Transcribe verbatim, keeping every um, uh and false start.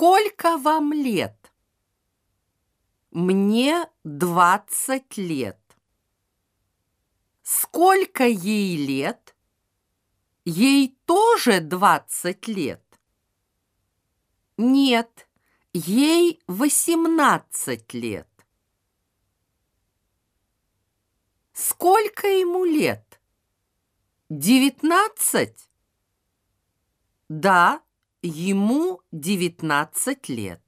Сколько вам лет? Мне двадцать лет. Сколько ей лет? Ей тоже двадцать лет. Нет, ей восемнадцать лет. Сколько ему лет? Девятнадцать? Да, ему девятнадцать лет.